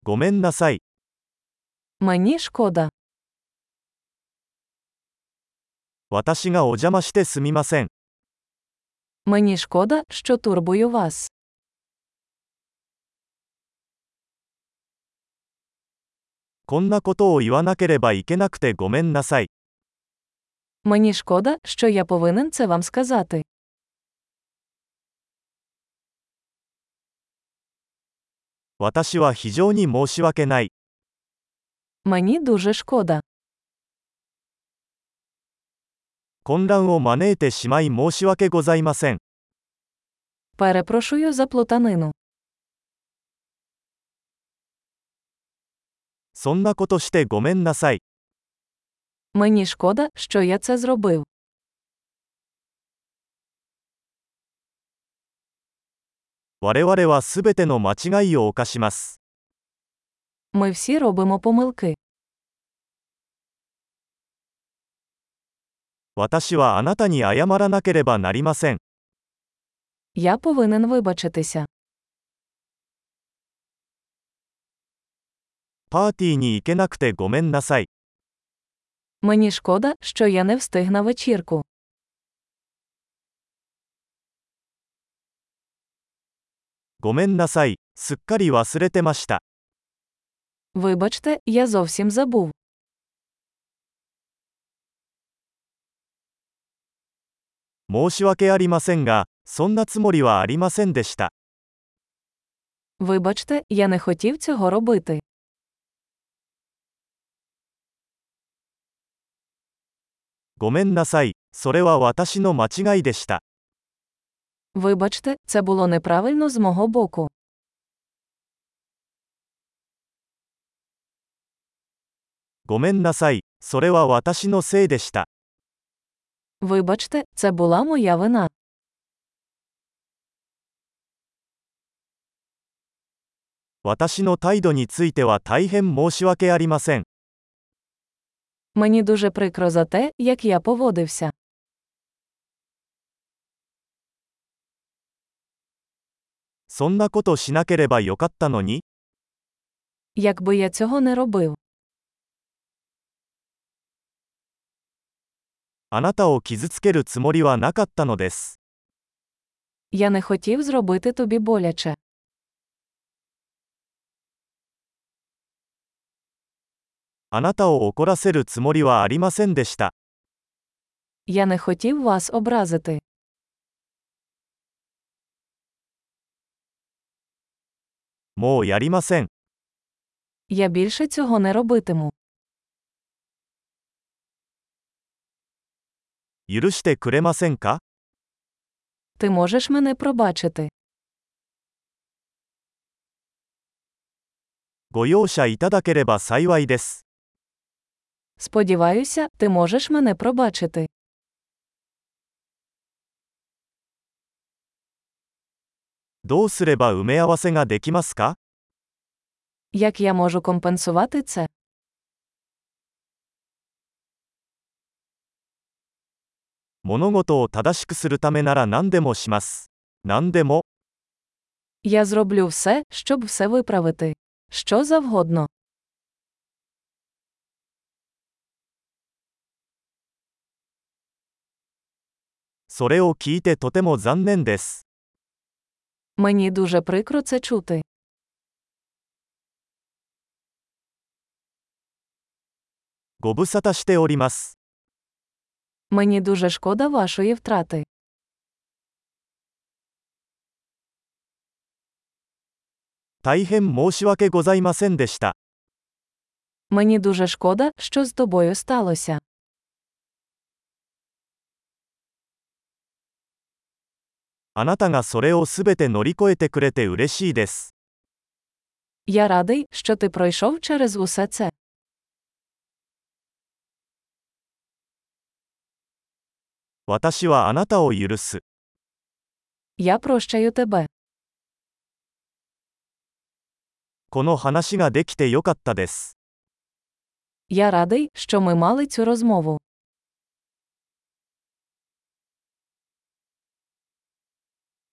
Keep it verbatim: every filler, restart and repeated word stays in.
ごめんなさい。 Мені шкода. 私がお邪魔してすみません。 Мені шкода, що турбую вас. こんなことを言わなければいけなくてごめんなさい。 Мені шкода, що я повинен це вам сказати. 私は非常に申し訳ない。 Мені дуже шкода. 混乱を招いてしまい申し訳ございません。 Перепрошую за плутанину. そんなことしてごめんなさい。 Мені шкода, що я це зробив. 我々はすべての間違いを犯します。 Ми всі робимо помилки. 私はあなたに謝らなければなりません。 Я повинен вибачитися. パーティーに行けなくてごめんなさい。 Мені шкода, що я не встиг на вечірку. ごめんなさい、すっかり忘れてました。 Вибачте, я зовсім забув. 申し訳ありませんが、そんなつもりはありませんでした。 Вибачте, я не хотів цього робити. ごめんなさい、それは私の間違いでした。 Вибачте, це було неправильно з мого боку. ごめんなさい、それは私のせいでした。 Вибачте, це була моя вина. 私の態度については大変申し訳ありません。 Мені дуже прикро за те, як я поводився. そんなことしなければよかったのに。 Якби я цього не робив. あなたを傷つけるつもりはなかったのです。 Я не хотів зробити тобі боляче. あなたを怒らせるつもりはありませんでした。 Я не хотів вас образити. もうやりません。 Я більше цього не робитиму. 許してくれませんか？ Ти можеш мене пробачити. ご容赦いただければ幸いです。 Сподіваюся, ти можеш мене пробачити. どうすれば埋め合わせができますか？ Як я можу компенсувати це? 物事を正しくするためなら何でもします。何でも。 Я зроблю все, щоб все виправити. Що завгодно. それを聞いてとても残念です。 Мені дуже прикро це чути. ご無沙汰しております。 Мені дуже шкода вашої втрати. 大変申し訳ございませんでした。 Мені дуже шкода, що з тобою сталося. あなたがそれをすべて乗り越えてくれて嬉しいです。 Я радий, що ти пройшов через усе це. 私はあなたを許す。 Я прощаю тебе. この話ができてよかったです。 Я радий, що ми мали цю розмову.